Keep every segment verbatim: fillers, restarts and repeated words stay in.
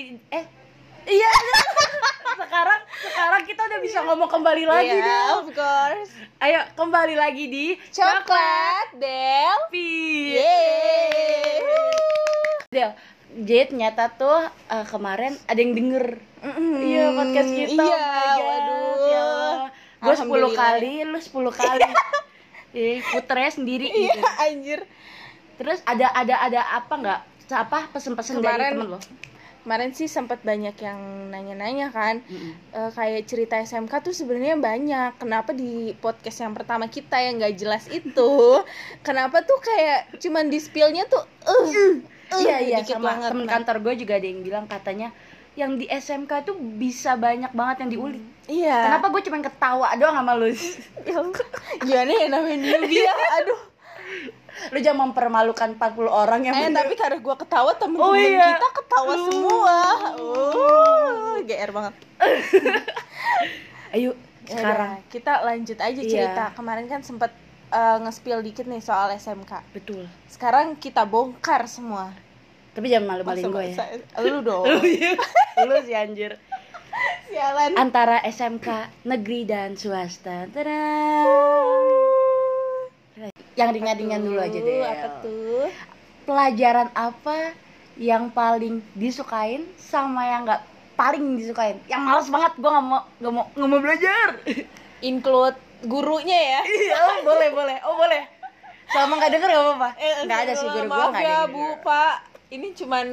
kembali eh iya sekarang sekarang kita udah bisa ngomong kembali lagi yeah, deh. Of course. Ayo kembali lagi di Coklat Delvi. Yeay. Del, Jade nyata tuh uh, kemarin ada yang denger. Mm-hmm. Iya podcast kita. Iya, oh waduh. Ya gue sepuluh kali, lu sepuluh kali. Eh, puternya sendiri gitu. Iya, anjir. Terus ada ada ada apa nggak? Apa pesen-pesen dari temen lo? Kemarin sih sempat banyak yang nanya-nanya kan, mm-hmm. uh, kayak cerita S M K tuh sebenarnya banyak. Kenapa di podcast yang pertama kita yang nggak jelas itu, kenapa tuh kayak cuman di spill-nya tuh, uh, uh, iya iya dikit sama banget. Temen Nah. kantor gue juga ada yang bilang katanya yang di S M K tuh bisa banyak banget yang diulik. Iya. Kenapa gue cuman ketawa doang sama lu? Gimana ya namanya newbie ya, aduh. Lu jangan mempermalukan empat puluh orang yang Eh tapi karena gue ketawa, temen-temen oh, iya. kita ketawa uh. semua. Uh, G R banget. Ayo sekarang Yaudah, kita lanjut aja cerita. Iya. Kemarin kan sempet uh, nge-spill dikit nih soal S M K. Betul. Sekarang kita bongkar semua. Tapi jangan malu-maluin gue ya. Lu dong. Lu sih anjir. Sialan. Antara S M K negeri dan swasta. Tada. Yang ringan-ringan dulu aja deh. Apa tuh? Pelajaran apa yang paling disukain sama yang nggak paling disukain? Yang malas banget, gue nggak mau nggak mau nggak mau belajar. Include gurunya ya? Iya, boleh boleh. Oh boleh. Selama nggak denger nggak apa-apa. Eh, nggak ada sih guru gue maaf nggak ya, ada. Bu, Pak. Ini cuman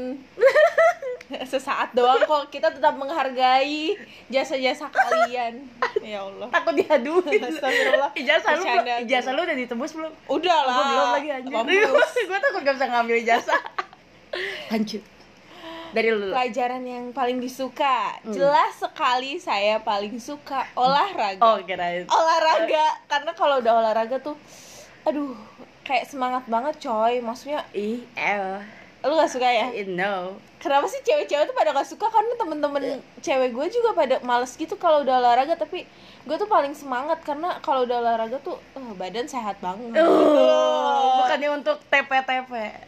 sesaat doang kok. Kita tetap menghargai jasa-jasa kalian. Ya Allah. Takut diaduin. Astagfirullah. Ijazah lu, Bercanda, ijazah lu udah ditebus belum? Udah lah. Gue belum lagi anjir. Gue takut gak bisa ngambil ijazah. Lanjut. Dari lu. Pelajaran yang paling disuka. Hmm. Jelas sekali saya paling suka olahraga. Oh, kirain. Olahraga. Karena kalau udah olahraga tuh aduh, kayak semangat banget coy. Maksudnya ih, eh. Lu gak suka ya? No. Kenapa sih cewek-cewek tuh pada gak suka? Karena temen-temen cewek gue juga pada males gitu kalau udah olahraga. Tapi gue tuh paling semangat karena kalau udah olahraga tuh uh, badan sehat banget. Uh, uh. Bukannya untuk T P T P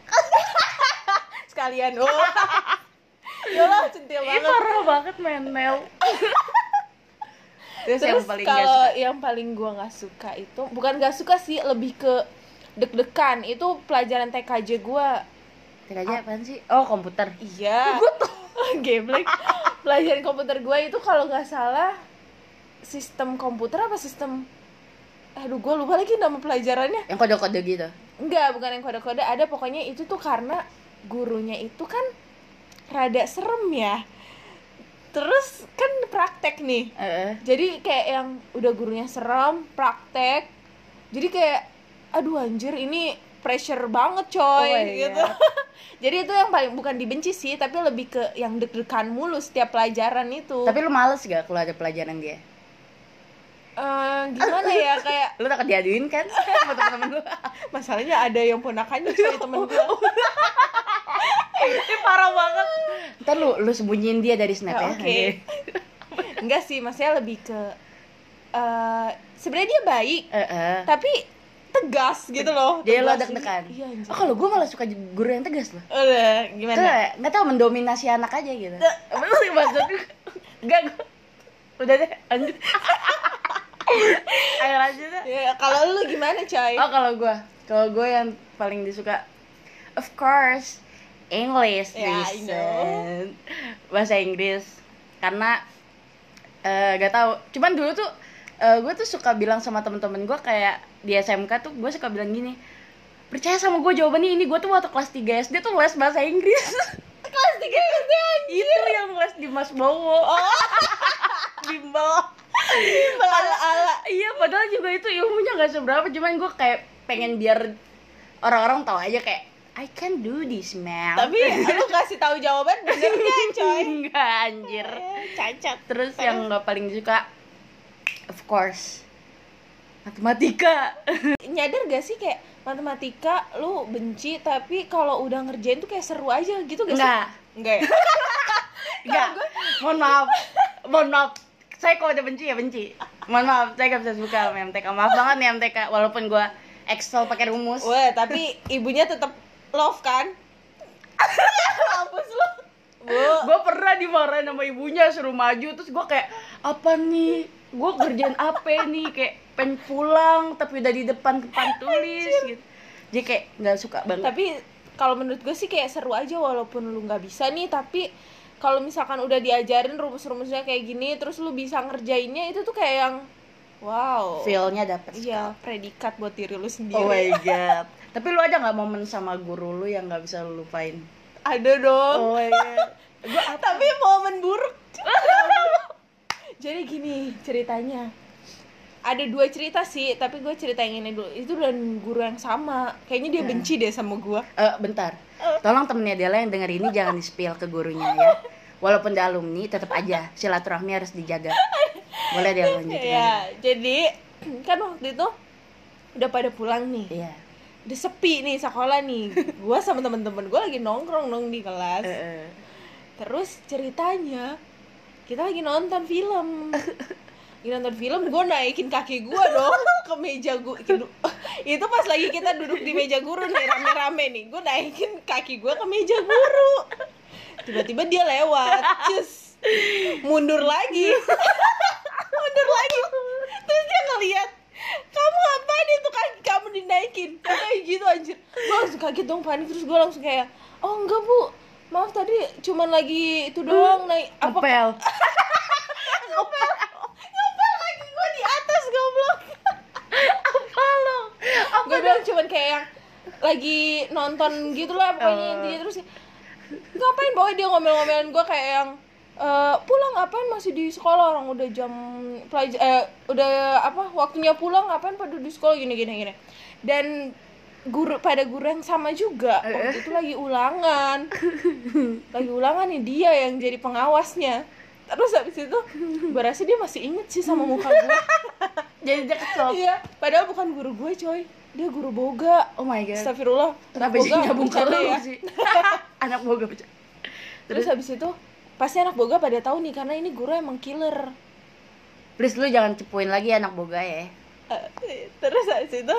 sekalian. Oh. Yolah, centil banget. Ih, parah banget menel. Terus, Terus yang paling kalau yang paling gue gak suka itu, bukan gak suka sih, lebih ke deg-degan. Itu pelajaran T K J gue. T K J apaan sih? Oh, komputer. Iya. Gue tuh geblek. Pelajaran komputer gue itu kalau nggak salah sistem komputer apa sistem, aduh gue lupa lagi nama pelajarannya. Yang kode-kode gitu? Enggak, bukan yang kode-kode. Ada pokoknya itu tuh karena gurunya itu kan rada serem ya. Terus kan praktek nih. Uh-uh. Jadi kayak yang udah gurunya serem, praktek. Jadi kayak aduh anjir ini pressure banget coy oh gitu. Jadi itu yang paling bukan dibenci sih, tapi lebih ke yang deg-degan mulu setiap pelajaran itu. Tapi lu males gak kalau ada pelajaran dia? Uh, gimana ya, kayak lu takut diaduin kan sama temen-temen lu? Masalahnya ada yang ponakannya coy, temen gue. Ini parah banget. Ntar lu lu sembunyiin dia dari snap ya. Oke. Okay. Enggak sih, maksudnya lebih ke uh, sebenarnya dia baik, uh-uh. tapi tegas gitu loh. Jadi lo deg-degan. Iya, oh, kalau gue malah suka guru yang tegas loh. Udah, gimana? Kayak nggak tahu mendominasi anak aja gitu. Bener sih maksud gue. Enggak, gue udah deh, lanjut. Ayo lanjut deh. Ya, kalau lu gimana, coy? Oh, kalau gue, kalau gue yang paling disuka, of course, English. Ya, I know. Bahasa Inggris. Karena uh, gak tahu. Cuman dulu tuh uh, gue tuh suka bilang sama temen-temen gue kayak di S M K tuh gue suka bilang gini, percaya sama gue jawabannya ini. Gue tuh waktu kelas tiga S D tuh les bahasa Inggris. Kelas tiga S D anjir. Itu yang les di Mas Bowo. Oh. Bimbel. Bimbel ala-ala. Iya, padahal juga itu ilmunya gak seberapa. Cuman gue kayak pengen biar orang-orang tahu aja kayak I can do this, man. Tapi lu kasih tahu jawaban benernya, coy. Enggak, anjir. Eh, cacat. Terus yang gak paling disuka, of course, matematika. Nyadar gak sih kayak matematika lu benci, tapi kalau udah ngerjain tuh kayak seru aja gitu gak sih? Enggak. Enggak ya? Enggak. Mohon maaf. Mohon maaf. Saya kalau udah benci ya benci. Mohon maaf, saya gak bisa suka sama M T K. Maaf banget nih M T K, walaupun gue Excel pakai rumus. Wah, tapi ibunya tetap love kan? Mampus lu. Bu. Gue pernah dimarahin sama ibunya suruh maju, terus gue kayak apa nih, gue kerjaan apa nih, kayak pengen pulang tapi udah di depan papan tulis gitu. Jadi kayak nggak suka banget. Tapi kalau menurut gue sih kayak seru aja walaupun lu nggak bisa nih, tapi kalau misalkan udah diajarin rumus-rumusnya kayak gini terus lu bisa ngerjainnya, itu tuh kayak yang wow, feel-nya dapet. Iya, predikat buat diri lu sendiri. Oh my god. Tapi lu ada nggak momen sama guru lu yang nggak bisa lu lupain? Ada dong. Oh my god. Gua tapi momen buruk. Jadi gini ceritanya. Ada dua cerita sih, tapi gue cerita yang ini dulu. Itu dan guru yang sama. Kayaknya dia benci deh sama gue. Eh, bentar. Tolong temennya Dela yang denger ini jangan di-spill ke gurunya ya. Walaupun dia alumni, tetap aja silaturahmi harus dijaga. Boleh dia lanjutin. Ya, jadi kan waktu itu udah pada pulang nih. Iya. Udah sepi nih sekolah nih. Gue sama temen-temen gue lagi nongkrong dong di kelas. Uh, Terus ceritanya kita lagi nonton film. Lagi nonton film, gue naikin kaki gue dong ke meja gue. Itu pas lagi kita duduk di meja guru nih, rame-rame nih. Gue naikin kaki gue ke meja guru. Tiba-tiba dia lewat, cus, mundur lagi. Mundur lagi. Terus dia ngeliat, kamu ngapain itu kaki kamu dinaikin? Kayak gitu anjir. Gue langsung kaget dong, panik. Terus gue langsung kayak, oh enggak bu, maaf tadi cuman lagi itu doang naik apa? Ngepel. Ngepel. Ngepel kaki gue di atas, goblok. Apa lo? Gue bilang cuman kayak yang lagi nonton gitu lah pokoknya Uh. intinya. Terus ngapain bawa dia ngomel-ngomelin gue kayak yang e, pulang ngapain masih di sekolah, orang udah jam pelajar eh udah apa waktunya pulang, ngapain pada di sekolah gini gini gini. Dan guru pada guru yang sama juga waktu itu lagi ulangan. Lagi ulangan nih, dia yang jadi pengawasnya. Terus habis itu gue rasa dia masih inget sih sama muka gue. Jadi dia kesel. Iya, padahal bukan guru gue coy, dia guru boga. Oh my god. Astagfirullah. Kenapa sih nyambung ke bercanda lu ya? sih? Anak boga bercanda. Terus habis itu pasti anak boga pada tahu nih karena ini guru emang killer. Please lu jangan cepuin lagi anak boga ya. Uh, terus habis itu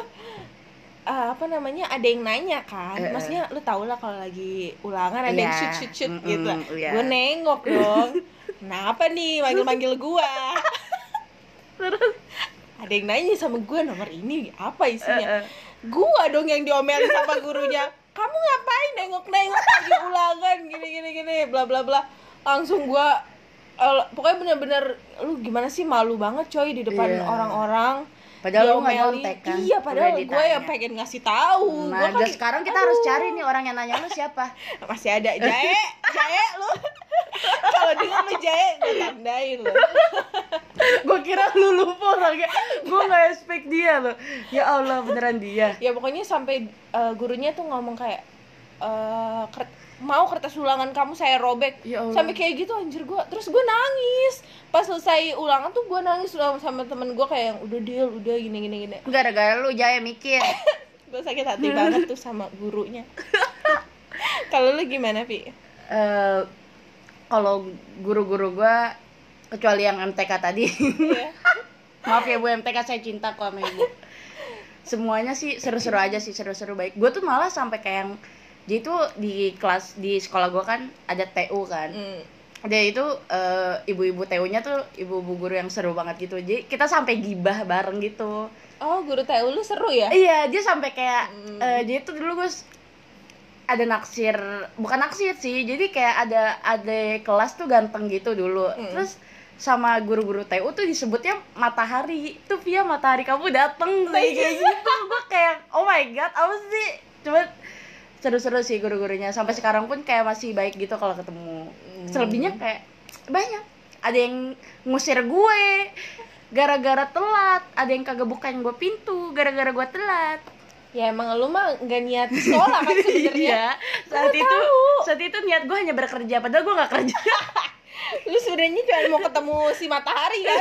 uh, apa namanya, ada yang nanya kan, Uh, uh. maksudnya lu tau lah kalau lagi ulangan ada yang Iya. shoot shoot shoot Mm-mm, gitu. iya. Gue nengok dong. Kenapa nih manggil-manggil gua? Terus Ada yang nanya sama gue, nomor ini apa isinya? Uh, uh. Gua dong yang diomelin sama gurunya. Kamu ngapain nengok-nengok lagi ulangan gini gini gini bla bla bla. Langsung gua uh, pokoknya bener-bener lu gimana sih, malu banget coy di depan Iya. orang-orang. Padahal lu nggak Diomelin. nyontek kan? Iya, padahal Udah gue ditanya. yang pengen ngasih tahu. Nah, Gua kan, dan sekarang kita aduh, harus cari nih orang yang nanya lu siapa. masih ada Jae, Jae lu. Kalau dengar lu Jae, gue tandain lu. Gue kira lu lupa orangnya. Gue nggak expect dia loh. Ya Allah, beneran dia. Ya pokoknya sampai uh, gurunya tuh ngomong kayak uh, kert- mau kertas ulangan kamu saya robek. Ya Allah. Sampai kayak gitu anjir gue. Terus gue nangis. Pas selesai ulangan tuh gue nangis sama, sama temen gue kayak yang udah deal, udah gini gini gini. Gara-gara lu Jaya mikir. Gue sakit hati banget tuh sama gurunya. Kalau lu gimana, Pi? Eh, kalau guru-guru gue, kecuali yang M T K tadi. Iya. Maaf ya Bu, M T K saya cinta kok sama Ibu. Semuanya sih seru-seru aja sih, seru-seru baik. Gue tuh malah sampai kayak yang jadi tuh di kelas di sekolah gue kan ada T U kan. Mm. Dia itu uh, ibu-ibu T U-nya tuh ibu-ibu guru yang seru banget gitu. Jadi kita sampai gibah bareng gitu. Oh, guru T U lu seru ya? Iya, dia sampai kayak Hmm. uh, dia tuh dulu gue s- ada naksir, bukan naksir sih. Jadi kayak ada ada kelas tuh ganteng gitu dulu. Hmm. Terus sama guru-guru T U tuh disebutnya matahari. Tuh Via, matahari kamu dateng kayak kayak gitu. Gue kayak oh my god, apa sih? Cuma seru-seru sih guru-gurunya. Sampai sekarang pun kayak masih baik gitu kalau ketemu. Selebihnya kayak banyak. Ada yang ngusir gue gara-gara telat, ada yang kagak bukain gue pintu gara-gara gue telat. Ya emang lu mah nggak niat sekolah kan sebenarnya. Iya. Saat Gua itu tahu. saat itu niat gue hanya bekerja, padahal gue nggak kerja. Lu sebenarnya cuma mau ketemu si matahari kan.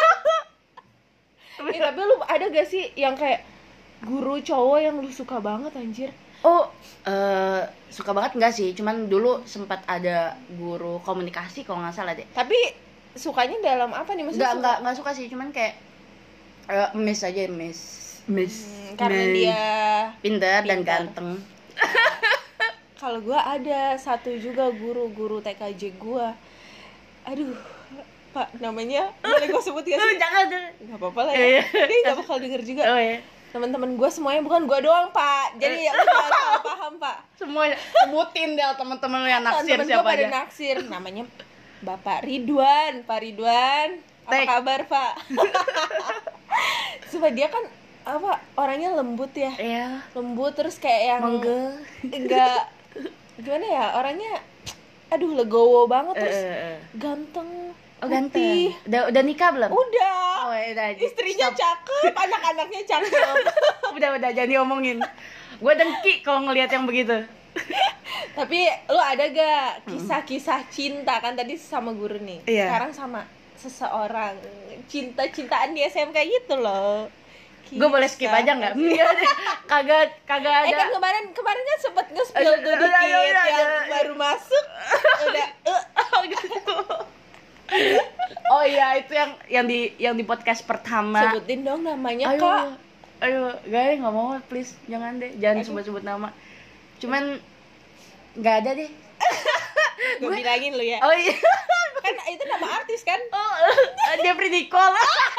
Eh, tapi lu ada gak sih yang kayak guru cowok yang lu suka banget anjir? Oh, eh suka banget enggak sih? Cuman dulu sempat ada guru komunikasi kalau nggak salah deh. Tapi sukanya dalam apa nih, maksudnya? Nggak suka- nggak nggak suka sih, cuman kayak eh, miss aja miss miss. Hmm, karena Miss. dia pintar dan pintar. ganteng. Kalau gue ada satu juga guru-guru T K J gue. Aduh, Pak, namanya boleh gue sebut gak sih? Jangan, jangan. Gak apa-apa lah ya. Dia gak bakal denger juga. Oh iya. Teman-teman gue semuanya, bukan gue doang, Pak. Jadi ya lu jangan salah paham, Pak. Semuanya sebutin deh teman-teman lu yang naksir Temen siapa gue pada aja. naksir. Namanya Bapak Ridwan. Pak Ridwan, apa Tek. kabar, Pak? Supaya dia kan apa orangnya lembut ya. Iya. Lembut terus kayak yang Monggo. enggak gimana ya, orangnya aduh legowo banget, terus Eh, eh, eh. ganteng. Oh putih. ganteng. Udah udah nikah belum? Udah. Oh, ya udah. Istrinya Stop. cakep, anak-anaknya cakep. Udah udah jangan diomongin. Gue dengki kalau ngelihat yang begitu. Tapi lu ada gak kisah-kisah cinta, kan tadi sama guru nih. Iya. Sekarang sama seseorang, cinta-cintaan di S M K gitu loh. Gue boleh skip aja nggak? Kagak kagak Eh kan ada. kemarin kemarin kan sempet nge-spill tuh Udah, dikit udah, udah, yang udah. baru masuk udah eh. Oh gitu. Oh iya itu yang yang di yang di podcast pertama. Sebutin dong namanya, Ayo, Kak. ayo, guys nggak mau please jangan deh, jangan Aduh. sebut-sebut nama. Cuman nggak ada deh. Gue bilangin lu ya. Oh iya. Kan itu nama artis kan? Oh, Jeffrey Nicole.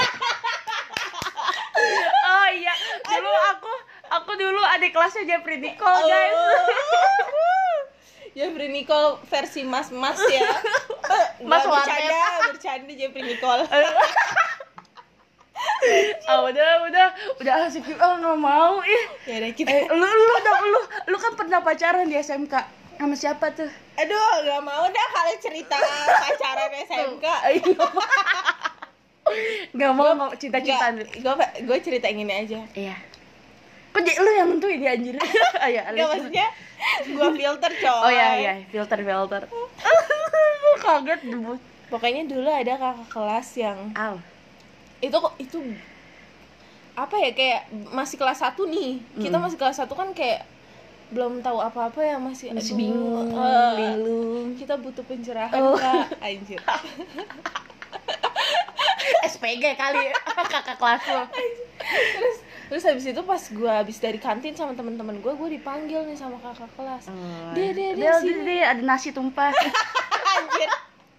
Oh iya, dulu aku aku dulu adik kelasnya Jeffrey Nicole, guys. Jeffrey Nicole versi mas-mas ya. Mas Nggak, warnet. bercanda, bercanda Jeffrey Nicole. Oh udah udah udah asik. Oh nggak mau ih. Ya udah kita. Eh, lu lu dong lu lu kan pernah pacaran di S M K sama siapa tuh? Aduh, nggak mau dah kalian cerita pacaran S M K. Nggak mau mau cinta-cintaan. Gue gue cerita yang ini aja. Iya. Kok jadi lu yang nentuin dia anjir? Ayo, Gak, maksudnya gue filter coy. Oh iya iya, filter filter. Gue kaget dulu. Pokoknya dulu ada kakak kelas yang Aw. itu kok itu apa ya, kayak masih kelas satu nih. Kita Mm. masih kelas satu kan kayak belum tahu apa-apa ya, masih Masih aduh, bingung, eh, bingung. Kita butuh pencerahan, Oh. Kak. Anjir. S P G kali kakak kelas lo. terus terus habis itu pas gue habis dari kantin sama teman-teman gue gue dipanggil nih sama kakak kelas. Oh, dia dia dia dia, sini. dia, ada nasi tumpah. Anjir.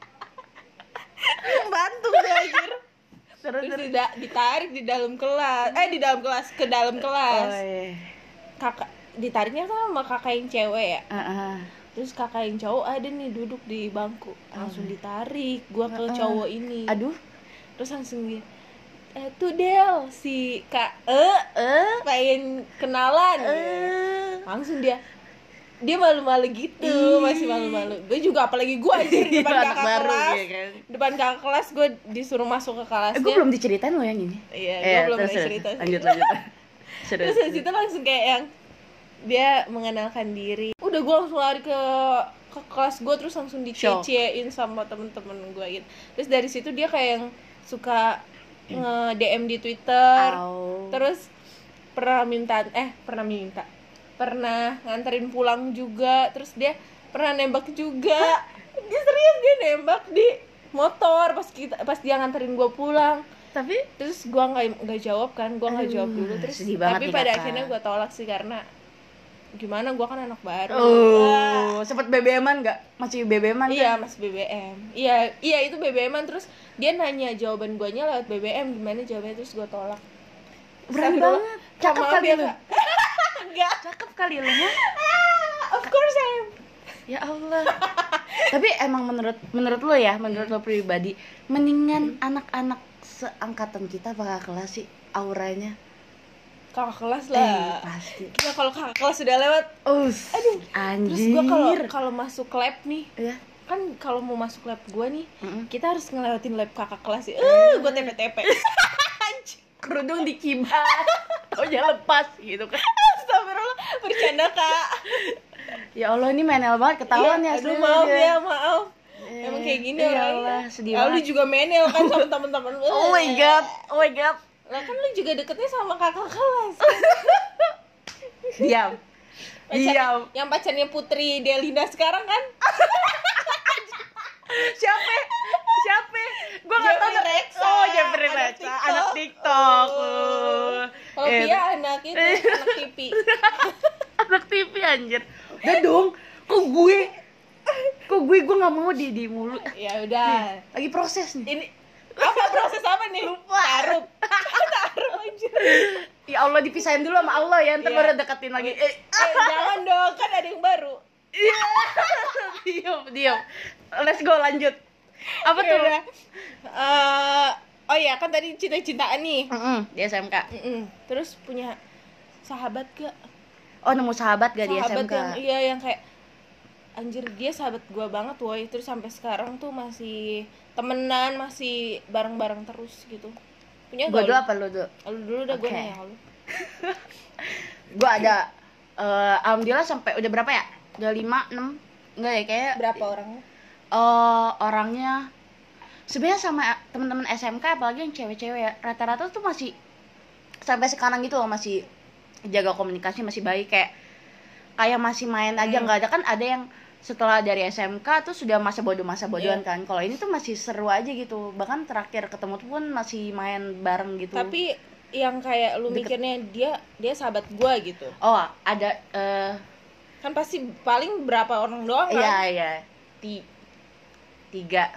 Bantu gue anjir. Terus Terus terus. tidak ditarik di dalam kelas, eh di dalam kelas ke dalam kelas. Oh, iya. Kakak ditariknya kan sama kakak yang cewek ya. Uh-uh. Terus kakak yang cowok ada nih duduk di bangku, langsung ditarik gua ke Uh-uh. cowok ini. Aduh. Terus langsung gini, eh tuh Del, si Kak E Eh pengen kenalan. eh Langsung dia dia malu-malu gitu, Ih. masih malu-malu. Gue juga apalagi gue anjir depan Anak kakak baru, kelas. ya kan? Depan kakak kelas gue disuruh masuk ke kelasnya. Eh, gue belum diceritain lo yang ini. Iya, Eh, gue belum terus, ada terus. cerita. Lanjut lanjut. Terus Terus dari situ langsung kayak yang dia mengenalkan diri. Udah gue langsung lari ke ke kelas gue, terus langsung Shock. dicecein sama temen-temen gue gitu. Terus dari situ dia kayak yang suka nge-D M di Twitter. Au. Terus pernah minta eh pernah minta pernah nganterin pulang juga. Terus dia pernah nembak juga. Dia serius, dia nembak di motor pas kita pas dia nganterin gue pulang. Tapi Terus gue nggak nggak jawab kan, gue nggak Aduh, jawab dulu. Terus sedih banget tapi nih, pada Kakak. akhirnya gue tolak sih, karena gimana, gue kan anak baru. oh, Wah. sempet B B M-an enggak? Masih B B M-an Iya, kan? mas B B M. Iya, iya itu B B M-an. Terus dia nanya jawaban guanya lewat B B M, gimana jawabannya, terus gue tolak. Berani Astagfirullah. banget. Kak, Cakep maaf kali ya, lu. Kak. Enggak. Cakep kali lu ya. Of course I am. Ya Allah. Tapi emang menurut menurut lo ya, menurut lo pribadi, mendingan anak-anak seangkatan kita apa kakak kelas sih auranya? Kakak kelas Eh, lah. pasti. Gila, kalau kakak kelas sudah lewat. Us. Aduh. Anjir. Terus gue kalau kalau masuk lab nih, ya. kan kalau mau masuk lab gue nih, Mm-mm. kita harus ngelewatin lab kakak kelas sih. Eh, gue T P T P. Kerudung dikibas. Oh, jangan lepas gitu kan. Astagfirullah, bercanda, Kak. Ya Allah, ini menel banget ketahuan ya. Iya, aduh, aslinya maaf dia. ya, maaf. Eh, Emang kayak gini ya orangnya. Allah, sedih Ah, lu banget. juga menel kan sama temen-temen lu. Oh my god, oh my god. Lah kan lu juga deketnya sama kakak kelas. Diam. Pacar- Diam. Yang pacarnya Putri Delina sekarang kan? Siapa? Siapa? Gua enggak tahu. Jeffrey Reksa. Oh, Jeffrey Anak Reksa, TikTok. anak TikTok. Oh. Kalau Eh, dia anak itu, anak T V. anak T V anjir. Udah dong. Kok gue? Kok gue gue nggak mau di di mulu. Ya udah. Lagi proses nih. Ini apa proses apa nih? Lupa. Taruh. Taruh anjir. Ya Allah, dipisahin dulu sama Allah ya, ntar Iya. baru deketin lagi. Eh, Eh, jangan dong, kan ada yang baru. iya. Diam, diam. Let's go, lanjut. Apa Ya tuh? udah. Eh, oh ya, kan tadi cinta-cintaan nih. Mm-mm, di S M K. Mm-mm. Terus punya sahabat gak? Oh, nemu sahabat gak di S M Sahabat K? yang iya yang kayak anjir dia sahabat gue banget woy, terus sampai sekarang tuh masih temenan, masih bareng-bareng terus gitu. Punya Gue gak dulu lu? apa lu dulu? Lu dulu udah gue Oke. nanya lu. Gue ada eh, alhamdulillah sampai udah berapa ya? Udah lima, enam? Enggak ya, kayak Berapa orangnya? eh, orangnya sebenarnya sama teman-teman S M K, apalagi yang cewek-cewek ya, rata-rata tuh masih sampai sekarang gitu loh, masih jaga komunikasi, masih baik, kayak kayak masih main aja. Hmm. Nggak ada kan, ada yang setelah dari S M K tuh sudah masa bodoh masa bodohan Iya. kan. Kalau ini tuh masih seru aja gitu, bahkan terakhir ketemu tuh pun masih main bareng gitu. Tapi yang kayak lu Deket. mikirnya dia dia sahabat gue gitu. Oh, ada eh Kan pasti paling berapa orang doang kan? iya iya Ti- tiga.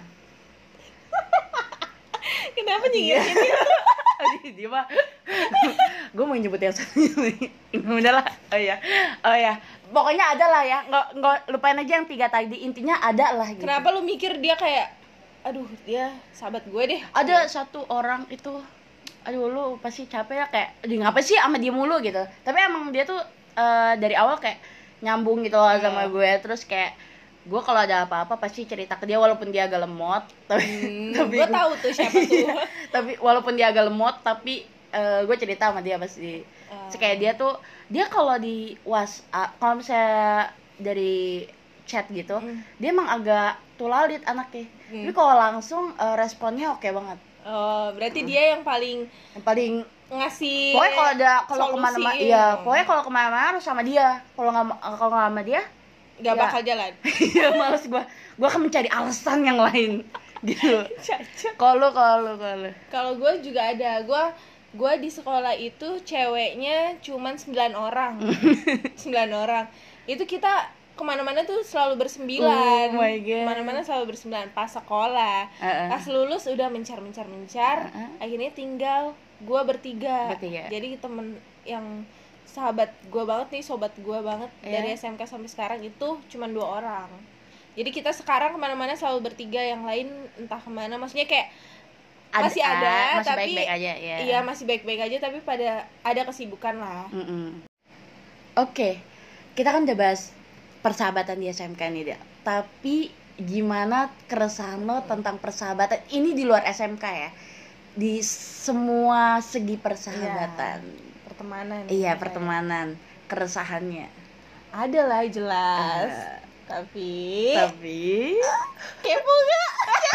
Kenapa nyindir ini? Aduh, dia mah gue mau nyebut yang satunya nih. Udah lah. Oh ya, oh ya, pokoknya ada lah ya, nggak nggak lupain aja yang tiga tadi, intinya ada lah gitu. Kenapa lu mikir dia kayak aduh dia sahabat gue deh? Ada satu orang itu, aduh lu pasti capek ya, kayak di ngapa sih sama dia mulu gitu, tapi emang dia tuh eh, dari awal kayak nyambung gitu loh sama gue. Terus kayak gue kalau ada apa-apa pasti cerita ke dia, walaupun dia agak lemot, tapi Hmm, tapi gue tahu tuh siapa tuh. tapi walaupun dia agak lemot, tapi eh, gue cerita sama dia pasti. Ah. Terus kayak dia tuh, dia kalau di WhatsApp, kalau misalnya dari chat gitu, Hmm. dia emang agak tulalit anaknya. Hmm. Tapi kalau langsung eh, responnya oke banget. Oh, berarti dia yang paling Yang paling ngasih pokoknya kalau ada kalau solusi. kemana-mana, iya pokoknya kalau kemana-mana harus sama dia. Kalau nggak kalau nggak sama dia, nggak ya. bakal jalan. ya males gue. Gue akan mencari alasan yang lain gitu. Caca. Kalau kalau kalau Kalau gue juga ada, gue gue di sekolah itu ceweknya cuman sembilan orang, sembilan orang. Itu kita kemana-mana tuh selalu bersembilan, Oh my God. kemana-mana selalu bersembilan pas sekolah. Uh-uh. Pas lulus udah mencar mencar mencar, Uh-uh. akhirnya tinggal gue bertiga. Bertiga. Jadi temen yang sahabat gue banget nih, sobat gue banget Iya. dari S M K sampai sekarang itu cuman dua orang. Jadi kita sekarang kemana-mana selalu bertiga, yang lain entah kemana. Maksudnya kayak Ada- masih ada, ah, masih tapi baik-baik aja, ya. Iya masih baik-baik aja, tapi pada ada kesibukan lah. Mm-mm. Oke, kita kan udah bahas persahabatan di S M K nih, dia. Tapi gimana keresahan lo tentang persahabatan ini di luar S M K ya? Di semua segi persahabatan. Pertemanan. Iya, kayak. pertemanan, keresahannya. Ada lah jelas. Ah. Tapi Tapi kepo gak?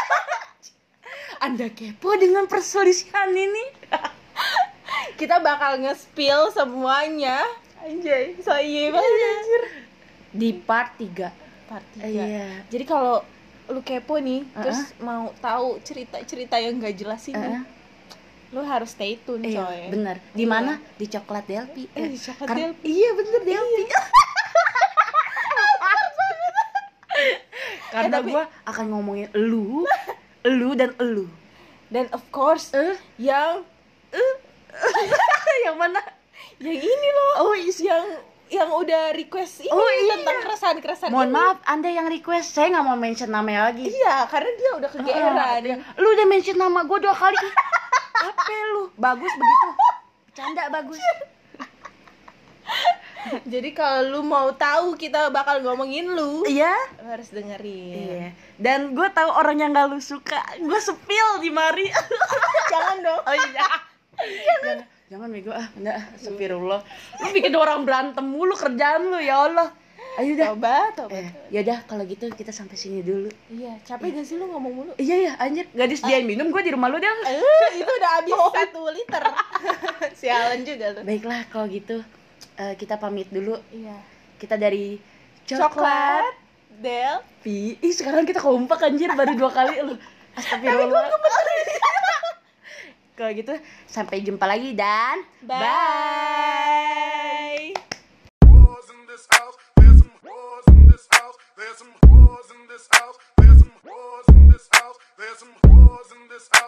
Anda kepo dengan perselisihan ini? Kita bakal nge-spill semuanya. Anjay, so iya banget anjir. Di part tiga. Part tiga. Iya. Jadi kalau lu kepo nih, Uh-uh. terus mau tahu cerita-cerita yang gak jelas ini, Uh-uh. lu harus stay tune Iya, coy. bener. Di mana? Di Coklat Delphi. Eh, di Coklat Karena- Delphi. Iya, bener Delphi. Karena Eh, tapi- gue akan ngomongin elu, elu dan elu. Dan of course, Eh, yang yang mana? yang ini loh. Oh, is- yang yang udah request ini Oh, iya. tentang keresahan-keresahan Mohon ini. maaf, Anda yang request, saya nggak mau mention namanya lagi. Iya, karena dia udah kegeeran. Ah, lu udah mention nama gue dua kali. Apa lu? Bagus begitu. Bercanda bagus. Jadi kalau lu mau tahu kita bakal ngomongin lu, Iya. lu harus dengerin. Iya. Dan gue tahu orang yang gak lu suka. Gue spill di mari. Jangan dong. Oh iya. Jangan, jangan bego ah, enggak, astagfirullah. Lu bikin orang berantem mulu kerjaan lu, ya Allah. Ayo dah. Tobat, tobat. Eh, ya udah kalau gitu kita sampai sini dulu. Iya, capek gak sih lu ngomong mulu? Iya ya, anjir, gak disediain minum gue di rumah lu dah. Eh, itu udah habis satu liter. Sialan juga lu. Baiklah kalau gitu eh, kita pamit dulu. Iya. Kita dari Coklat, Coklat Del. Pi. Ih, sekarang kita kompak anjir baru dua kali lu. Astagfirullah. Kalau gitu sampai jumpa lagi dan Bye. bye. Whores in this house, there's some whores in this house. There's some whores in this house. There's some whores in this house. There's some whores in this house.